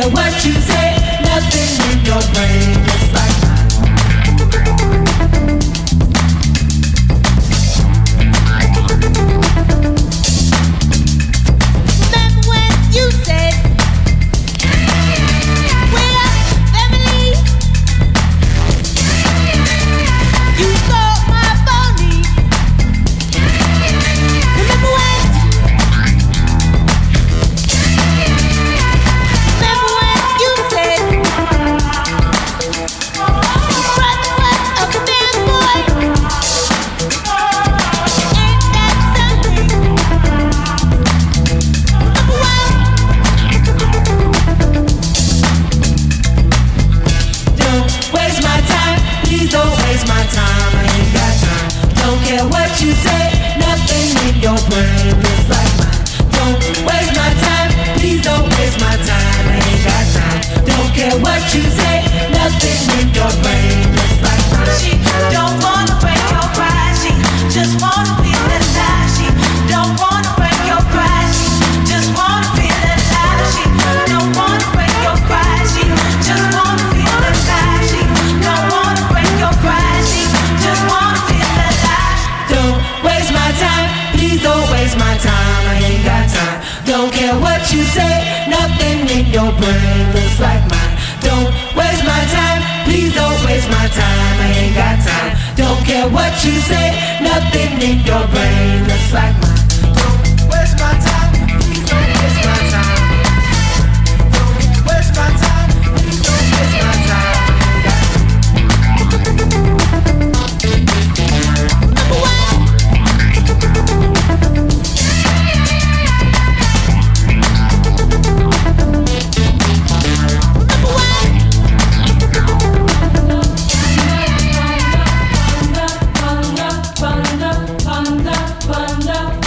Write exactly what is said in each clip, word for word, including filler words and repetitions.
care what you say, nothing in your brain is like Remember when you said we're family? You stole my phony. Remember when? Remember when you said brother was a bad boy? Ain't that something? Remember when? Don't waste my time, please don't waste my time, I ain't got time. Don't care what you say, nothing in your brain is like mine. Don't waste my time, please don't waste my time, I ain't got time. Don't care what you say, nothing in your brain is like mine. She don't wanna break your pride. She just wanna feel alive. She don't wanna break your pride. She just wanna feel alive. She don't wanna break your pride. She just wanna feel alive. She don't wanna break your pride. She just wanna feel alive. Don't waste my time, please don't waste my time, I ain't got time. Don't care what you say, nothing in your brain looks like mine. Don't waste my time, please don't waste my time, I ain't got time. Don't care what you say, nothing in your brain looks like mine. Don't waste my time, please don't waste my time. Don't waste my time, please don't waste my time, I ain't got time. Remember when? Remember when? Panda, panda, panda, panda, panda.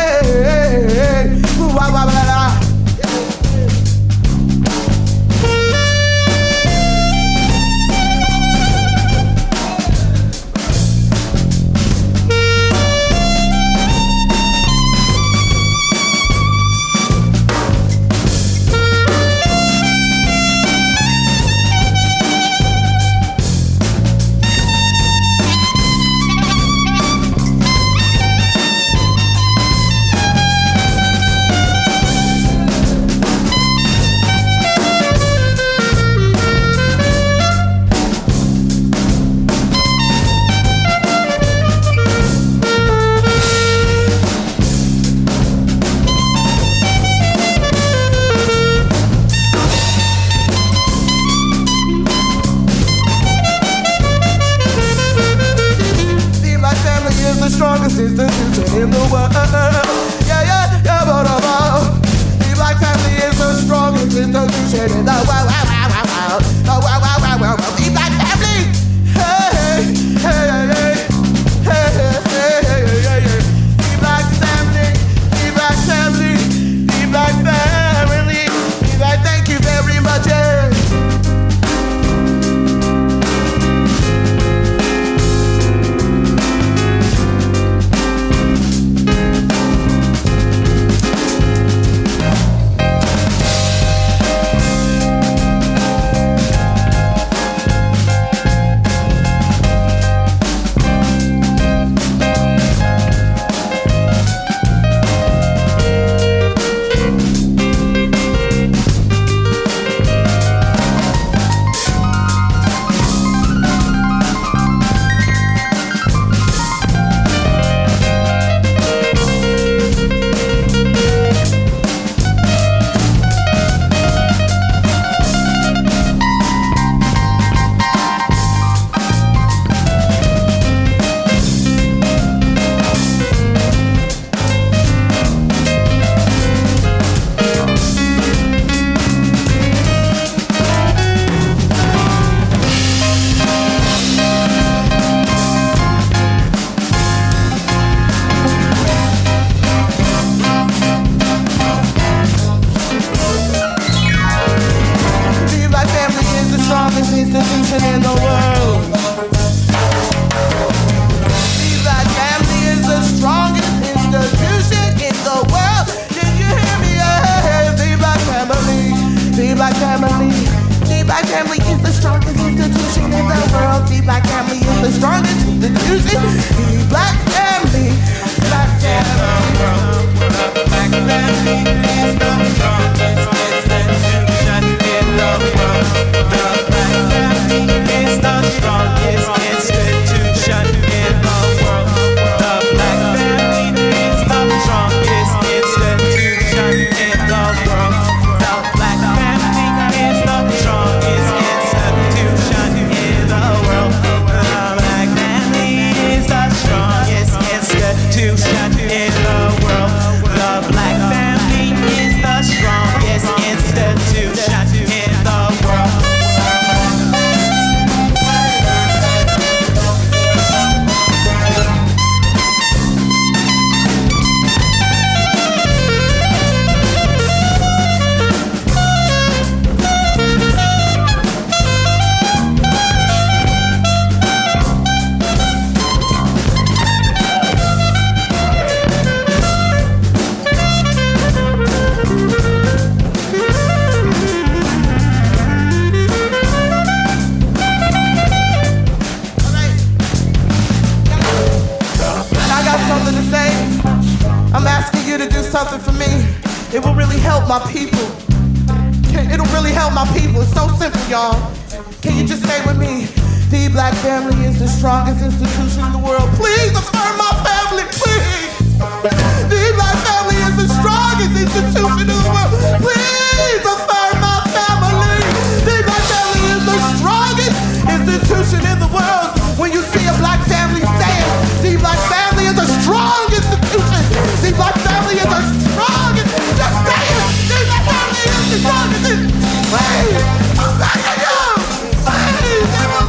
something for me. It will really help my people. It'll really help my people. It's so simple, y'all. Can you just say with me? The black family is the strongest institution in the world. Please affirm my family, please. The black family is the strongest institution in the world. Please affirm my family. The black family is the strongest institution in the world. When you see a black family say it, the black family is a strong institution. The black family is a strong, just say it. The black family is the strongest institution. Please, I'm begging you. Please, they will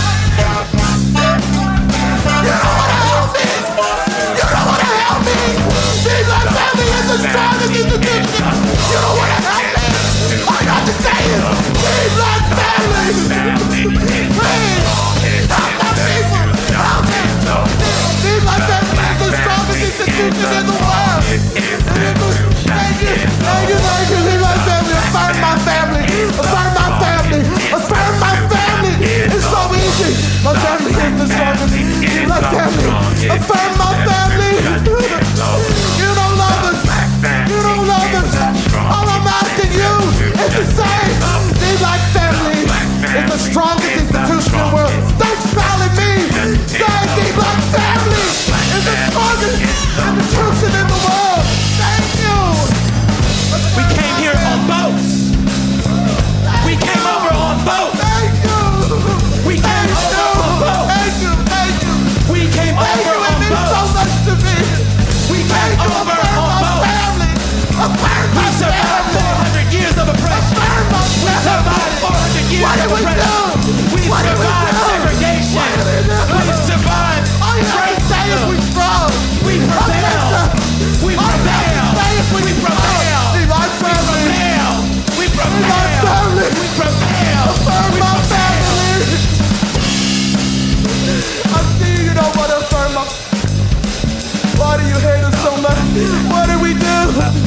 you don't wanna help me. You don't wanna help me. The black family is the strongest institution. You don't wanna help me. All you have to say is, the black family. Please, help my people. Help me. The black family is the strongest institution in the world. Thank you, thank you, thank you. The black family, affirm my family. Affirm my family. Affirm my family. It's so easy. My family is the strongest. The black family. Affirm my family. You don't love us. You don't love us. All I'm asking you is to say, the black family is the strongest institution in the world. Don't smile at me. Say, the black family is the strongest institution in the world. Thank you. We came here on boats. We came over on boats. Thank you. We came Thank over you. on boats. Thank you. Thank you. We came Thank over you. on It means so boats. much to me. We came Thank you. over Affirm on my boats. family. Affirm We my survived family. four hundred years of oppression. Affirm my We family. survived four hundred years What of did we oppression. do? We What did we survived do? segregation. What did we do? We survived All you have to say is we racism. strong. We prevail. We All you have prevail. to say is we We prevail. strong. The black We family. prevail. We My prevail. family. We prevail. Affirm We my prevail. family. I see you don't want to affirm my. Why do you hate us so much? What did we do?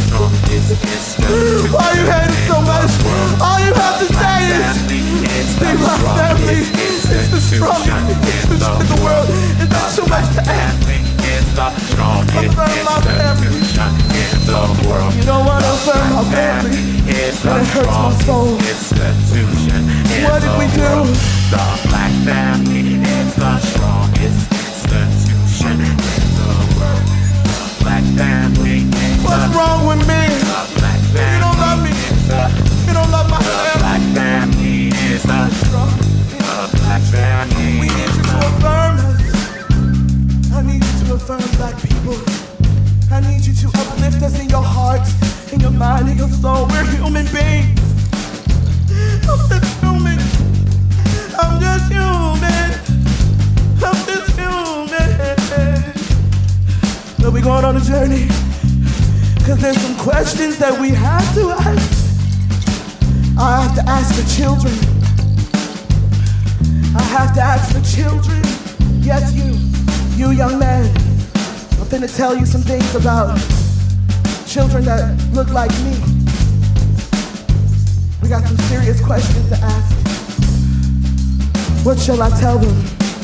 Why you hate us so much? All you have to say is, the black family is the strongest institution in the world. Is that too much to ask? Affirm my family. You don't want to affirm my family. And it hurts my soul. What did we do? The black family is the strongest institution in the world. The black family is What's the wrong with me? black You don't love me. You don't love my family. black family is the the black family. We need you to affirm us. I need you to affirm black people. I need you to uplift us in your heart, in your mind, in your soul. We're human beings. I'm just human. I'm just human. I'm just human. But we're going on a journey. Cause there's some questions that we have to ask. I have to ask the children. I have to ask the children. Yes, you, you young man. I'm finna tell you some things about children that look like me. We got some serious questions to ask. What shall I tell them?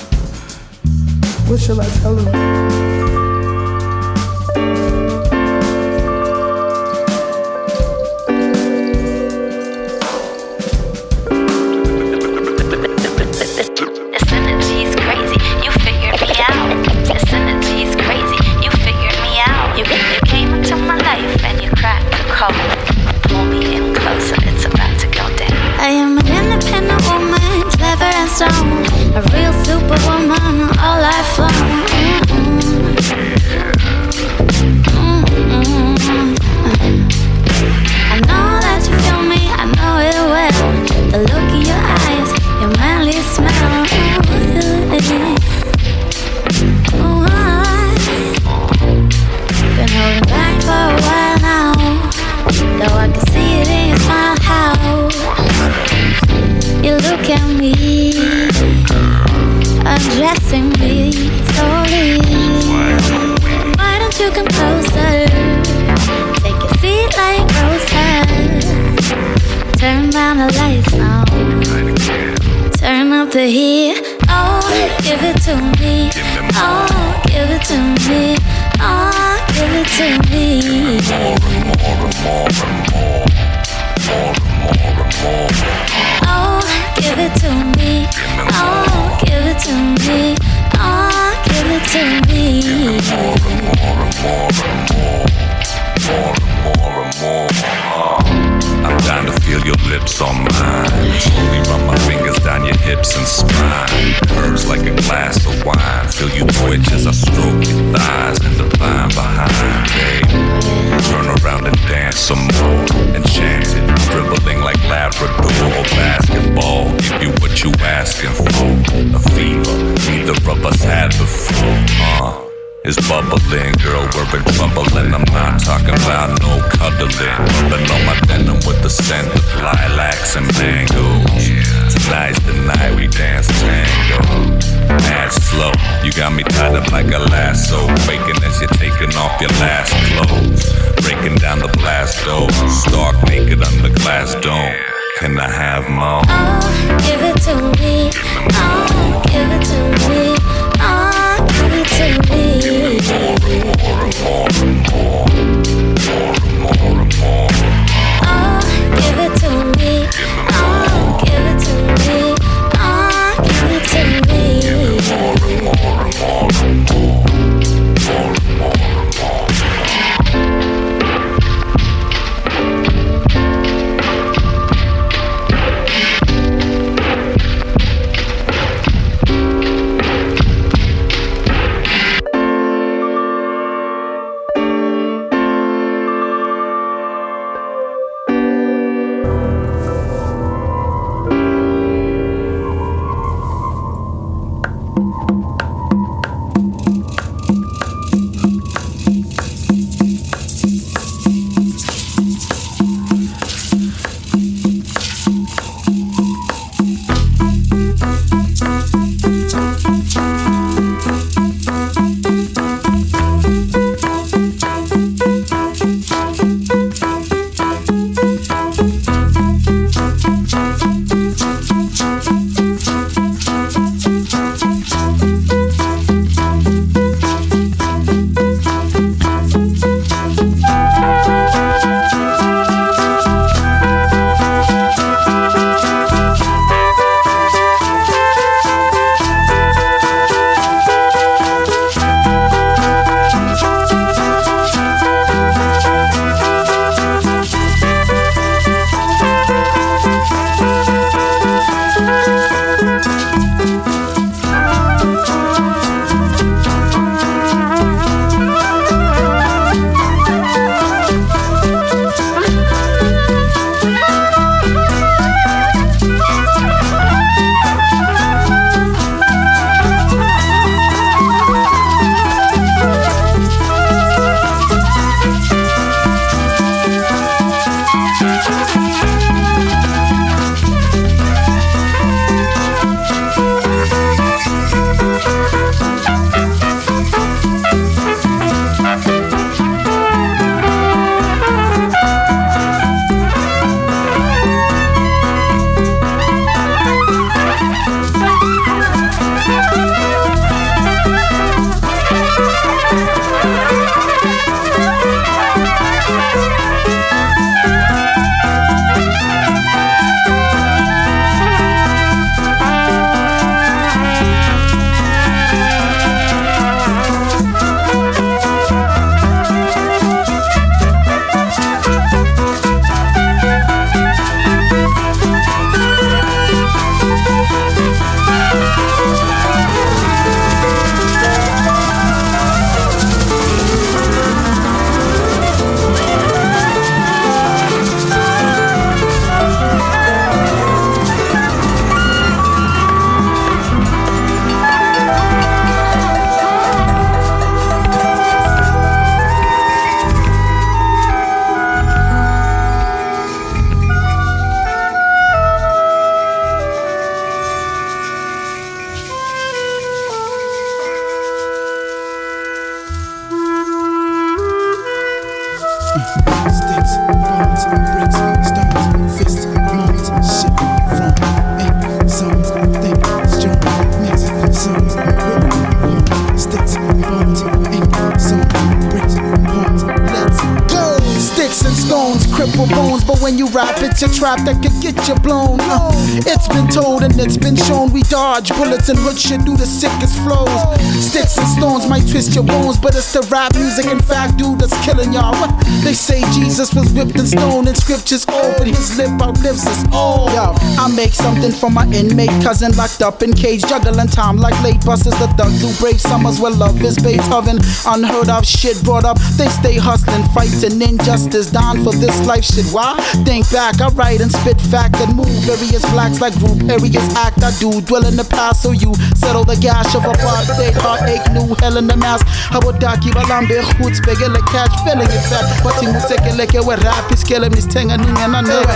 What shall I tell them? This energy's crazy, you figured me out. This energy's crazy, you figured me out. You, you came into my life and you cracked the code. Pull me in closer, it's about to go down. I am an independent woman, clever and strong, a real superwoman, all life long. Mm-mm. Mm-mm. I know that you feel me, I know it well. The look in your eyes, your manly smell. Oh, I've been holding back for a while now, though I can see it in your smile. How you look at me, undressing me slowly. Why don't you come closer? Take a seat like roses. Turn down the lights now. Turn up the heat. Oh, give it to me. Oh, give it to me. Oh, give it to me. Sticks, bones, bricks, stones, fists, moans, shit from eight zones. Think strong, mix songs, whip, sticks, bones, ink, zones, bricks, bones. Let's go. stones, cripple bones, but when you rap, it's a trap that could get you blown. Uh, it's been told and it's been shown we dodge bullets and hood shit do the sickest flows. Sticks and stones might twist your bones, but it's the rap music, in fact, dude, that's killing y'all. What? They say Jesus was whipped and stoned and scriptures all, but his lip outlives us all. Yo, I make something for my inmate cousin locked up in cage, juggling time like late buses. The thugs who brave summers where love is Beethoven. Unheard of shit brought up, they stay hustling, fighting injustice, down for this life shit. Why? Think back, I write and spit fact and move various blacks like group areas act. I do dwell in the past, so you settle the gash of apartheid, heartache, new hell in the mask. Habodaki balambe hoots begele catch feeling it fat, but you take a look at where rap is killing me, tenga ninga na ne.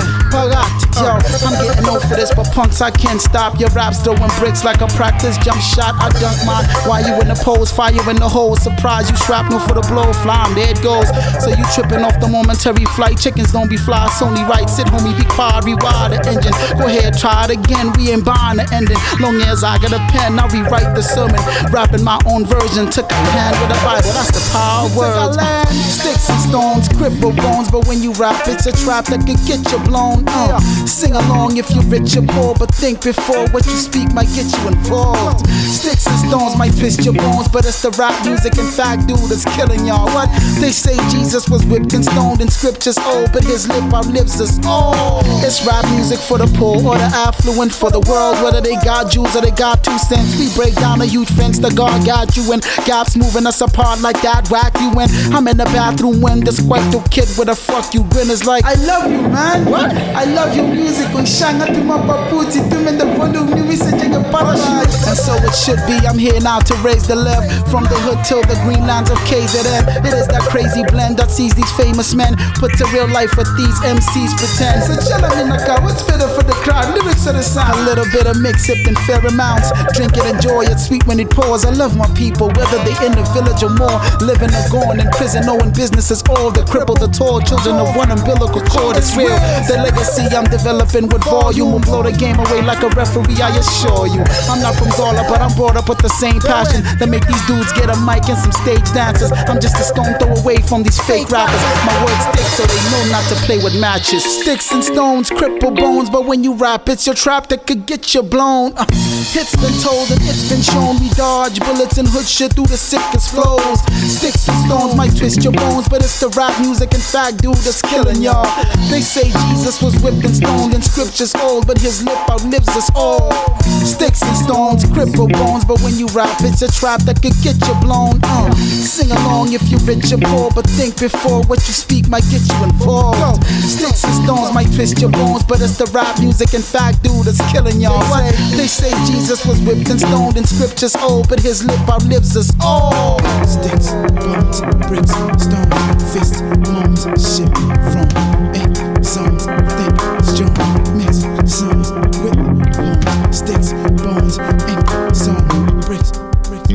Yo, I'm getting old for this, but punks I can't stop. Your raps throwing bricks like a practice jump shot. I dunk mine while you in the pose, fire in the hole. Surprise you shrapnel for the blow, flying there it goes. So you tripping off the momentary flight. Chickens don't be fly, it's only right. Sit homie, be quiet, rewire the engine. Go ahead, try it again. We ain't buying the ending. Long as I got a pen, I rewrite the sermon. Rapping my own version. Took a hand with a Bible, that's the power of words. Sticks and stones, cripple bones, but when you rap, it's a trap that could get you blown. Uh, sing along if you're rich or poor, but think before what you speak might get you involved. Sticks and stones might twist your bones, but it's the rap music, in fact, dude, that's killing y'all. What? They say Jesus was whipped and stoned in scriptures old, but his lip outlives us all. It's rap music for the poor or the affluent, for the world, whether they got Jews or they got two cents. We break down a huge fence, the God got you in. Gaps moving us apart like that, whack you in. I'm in the bathroom when this white kid with a fuck you grin is like, I love you, man. What? I love your music. When shanga to my paputi, to in the volume, new messaging a parachute. And so it should be. I'm here now to raise the level from the hood till the green lands of K Z N. It is that crazy blend that sees these famous men put to real life what these M Cs pretend. So chill in the car, what's better for the crowd? Lyrics of the sound. A little bit of mix sip in fair amounts. Drink it, enjoy it, sweet when it pours. I love my people, whether they in the village or more. Living or going in prison, knowing business is all. The crippled, the tall, children of one umbilical cord. It's real. The legacy I'm developing with volume will blow the game away like a referee, I assure you. I'm not from Zola, but I'm brought up with the same passion that make these dudes get a mic and some stage dances. I'm just a stone throw away from these fake rappers. My words stick so they know not to play with matches. Sticks and stones, cripple bones, but when you rap, it's your trap that could get you blown. Uh, it's been told and it's been shown we dodge bullets and hood shit through the sickest flows. Sticks and stones might twist your bones, but it's the rap music, in fact, dude, that's killing y'all. They say Jesus was whipped and stoned in scriptures old, but his lip outlives us all. Sticks and stones, cripple bones, but when you rap, it's a trap that could get you blown. Uh, sing along if you're rich or poor, but think before what you speak might get you involved. Sticks and stones might twist your bones, but it's the rap music, in fact, dude, that's killing y'all. What? They say Jesus was whipped and stoned in scriptures old, but his lip outlives us all. Sticks, bones, bricks, stones, fists, moans, shit from eight songs, think, strong, mix, songs, with bones, sticks, bones, ink, song, bricks, bricks,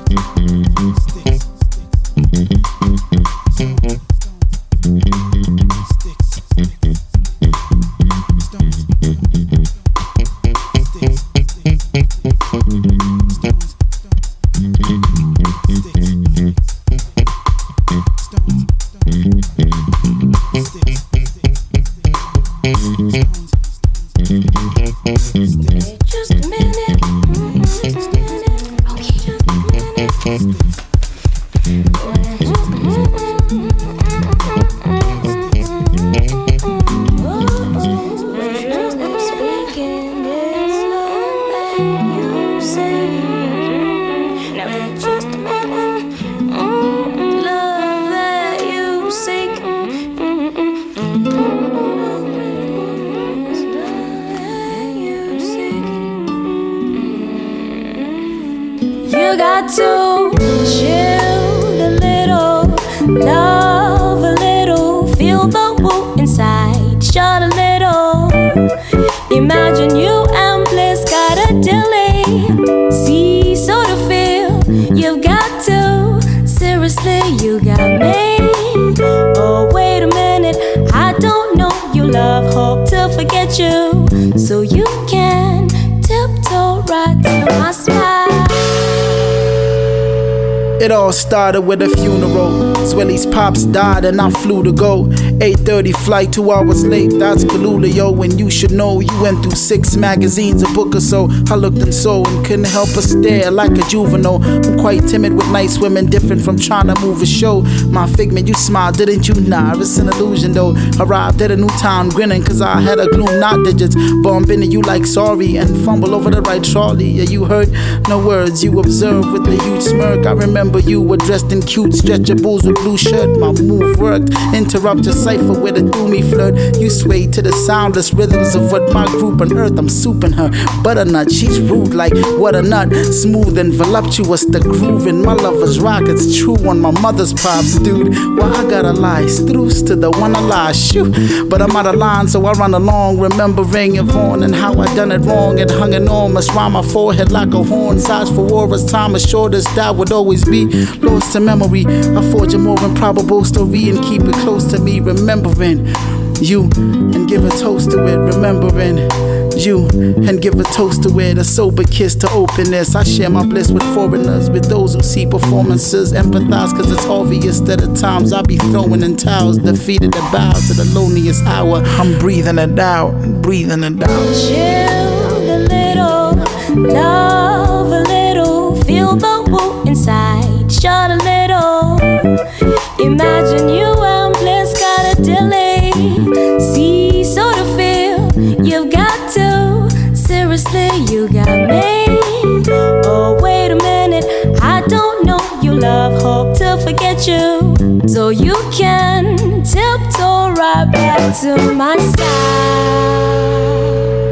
bricks, sticks, Just a minute. Okay. Just a minute. You got to chill a little, love a little, feel the woo inside, shut a little. Imagine you and bliss got a delay. See, sort of feel you've got to. Seriously, you got me. Oh, wait a minute, I don't know you love, hope to forget you, so you can tiptoe right to my smile. It all started with a funeral. Swilly's pops died and I flew to go. eight thirty flight, two hours late, that's Kalula, when you should know you went through six magazines, a book or so. I looked and saw and couldn't help but stare like a juvenile. I'm quite timid with nice women, different from trying to move a show. My figment, you smiled, didn't you? Nah, it's an illusion though. Arrived at a new town grinning cause I had a gloom, not digits. Bump into you like sorry and fumble over the right trolley. Yeah, you heard no words, you observed with a huge smirk. I remember you were dressed in cute stretchables with blue shirt. My move worked, interrupt your cipher with a doomy flirt. You swayed to the soundless rhythms of what my group on earth. I'm souping her, butternut, she's rude like what a nut. Smooth and voluptuous, the groove in my lover's rock. It's true on my mother's pops, dude. Well, I gotta lie, struce to the one I lie, shoot. But I'm out of line, so I run along, remembering Yvonne and how I done it wrong. It hung enormous round my forehead like a horn. Size for war as time assured us that would always be lost to memory. I forge a more improbable story and keep it close to me, remembering you and give a toast to it, remembering you and give a toast to it, a sober kiss to openness. I share my bliss with foreigners, with those who see performances, empathize cause it's obvious that at times I be throwing in towels, defeated and bow to the loneliest hour. I'm breathing it out, breathing it out. Chill a little, love a little, feel the woo inside, shut a little. Imagine you and bliss got a delay. See, sort of feel you've got to. Seriously, you got me. Oh, wait a minute, I don't know you love, hope to forget you. So you can tiptoe right back to my side.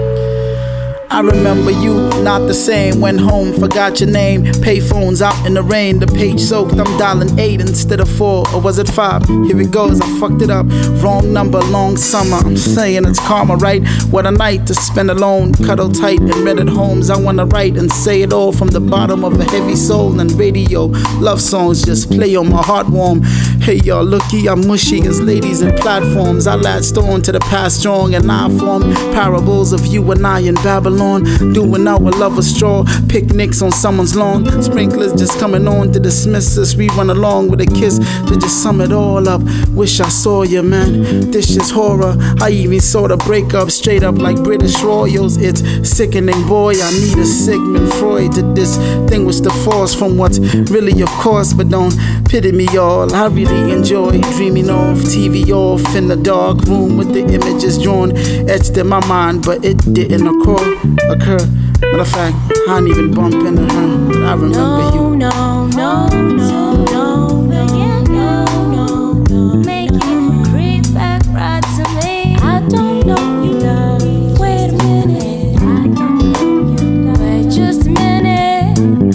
I remember you, not the same. Went home, forgot your name. Payphones out in the rain, the page soaked. I'm dialing eight instead of four, or was it five? Here it goes, I fucked it up. Wrong number, long summer. I'm saying it's karma, right? What a night to spend alone, cuddle tight in rented homes. I wanna write and say it all from the bottom of a heavy soul. And radio, love songs just play on my heart warm. Hey y'all, looky, I'm mushy as ladies and platforms. I latched on to the past strong and I formed parables of you and I in Babylon. Doing our love a straw, picnics on someone's lawn. Sprinklers just coming on to dismiss us. We run along with a kiss to just sum it all up. Wish I saw you, man. This is horror. I even saw the breakup straight up like British royals. It's sickening, boy. I need a Sigmund Freud to distinguish the force from what's really of course. But don't pity me, y'all. I really enjoy dreaming off, T V off in the dark room with the images drawn, etched in my mind, but it didn't occur. occur. Matter of fact, I didn't even bump into her, but I remember no, you. No, no, no, no, no, no, no, no. Make you creep back right to me. I don't know you love. Wait a minute. I don't know you love. Wait just a minute.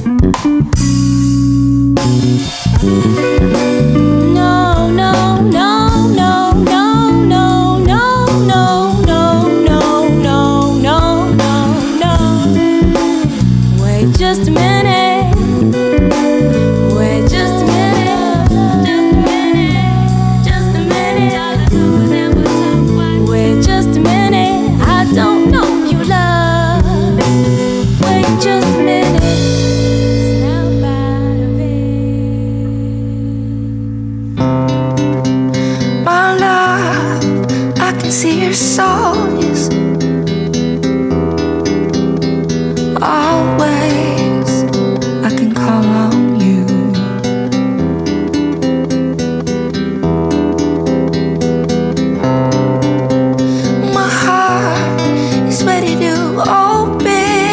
No, no, no, no, no, no, no, no, no, no, no, no, no. Wait just a minute. Wait just a minute. Just a minute. Wait just a minute. I don't know you love. Wait just a minute. Snap out of it. My love, I can see your soul is always. I can call on you. My heart is ready to open.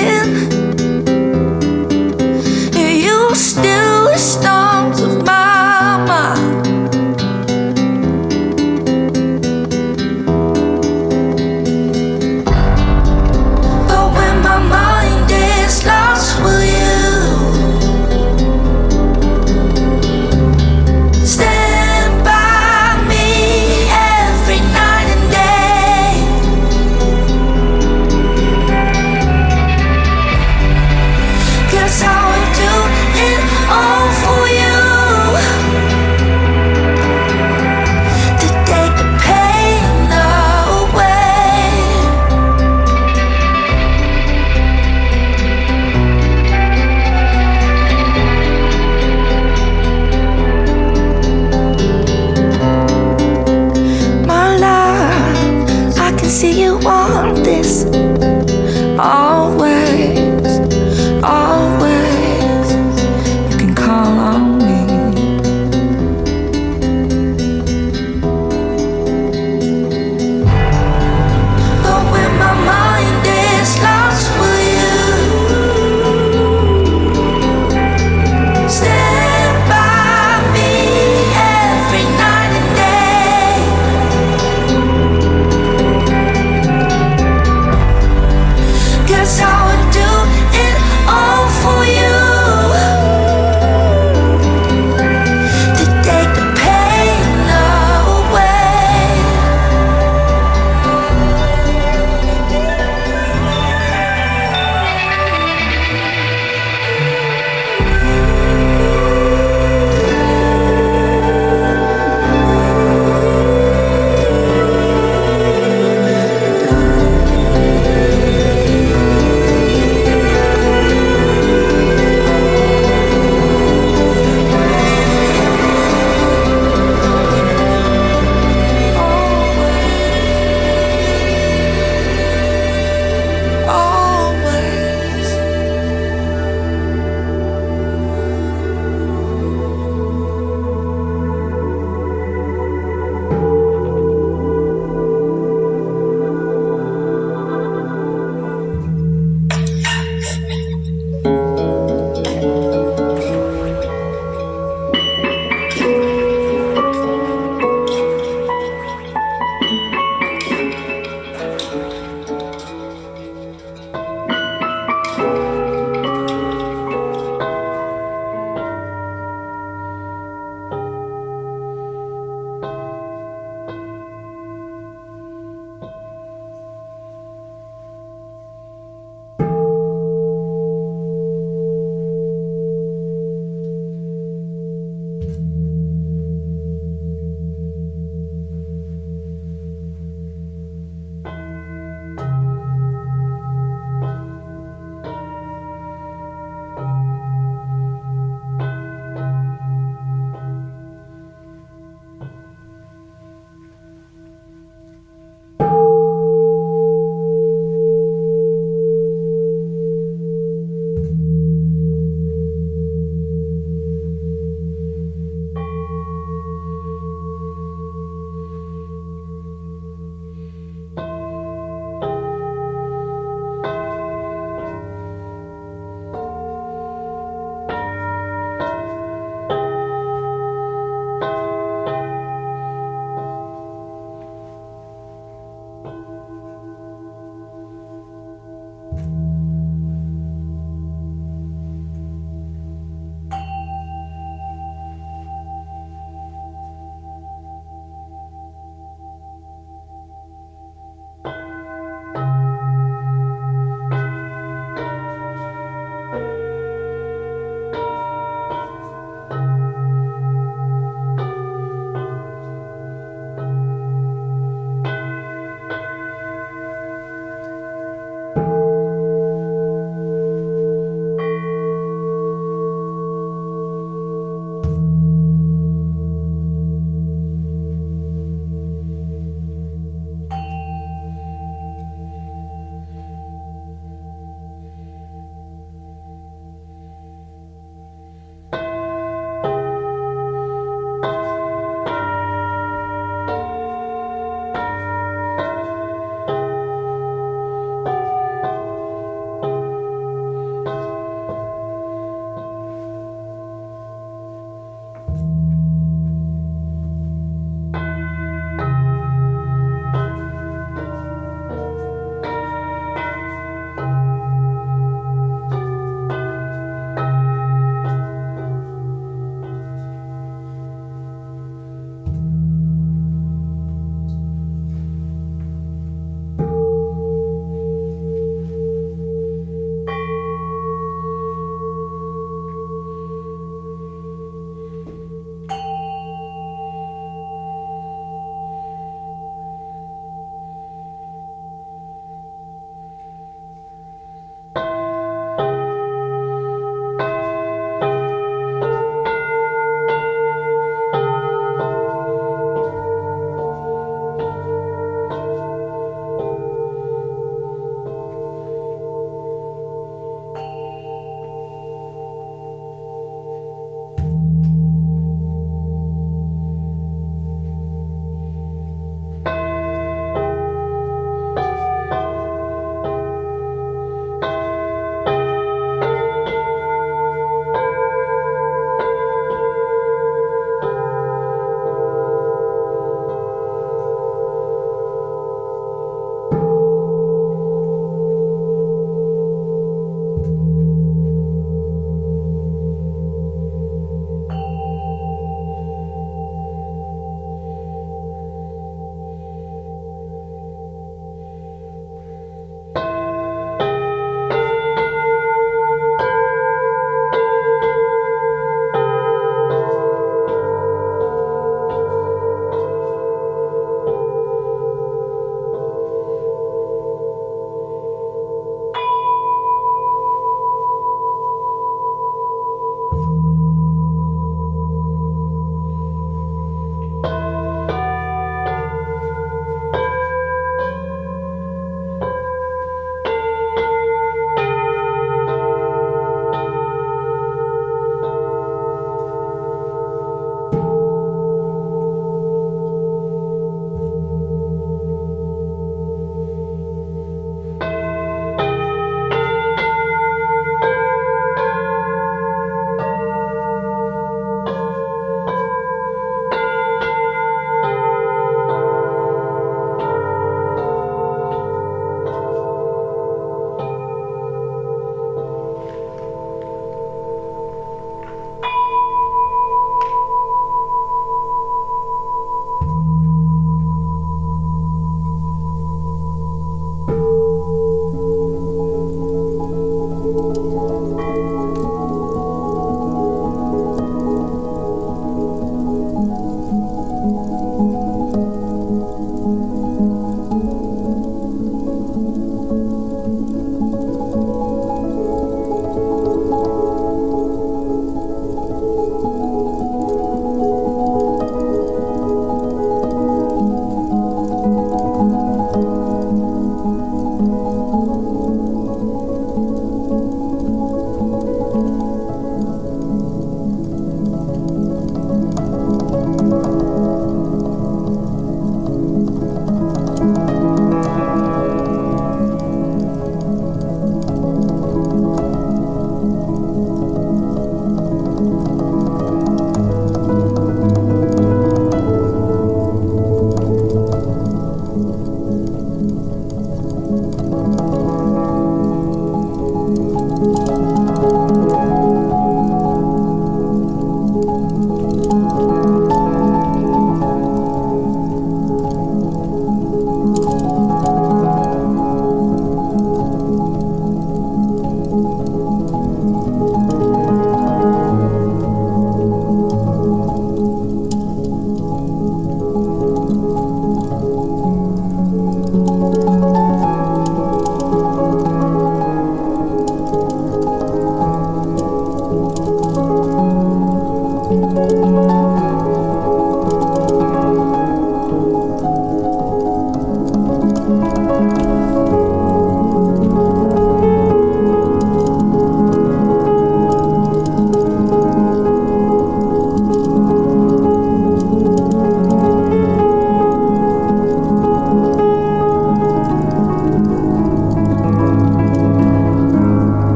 You still the storms of my mind. But when my mind is lost,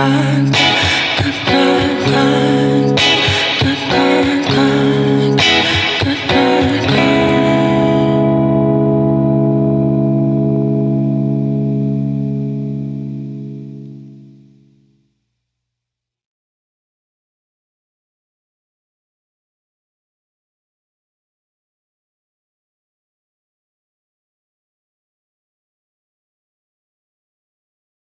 my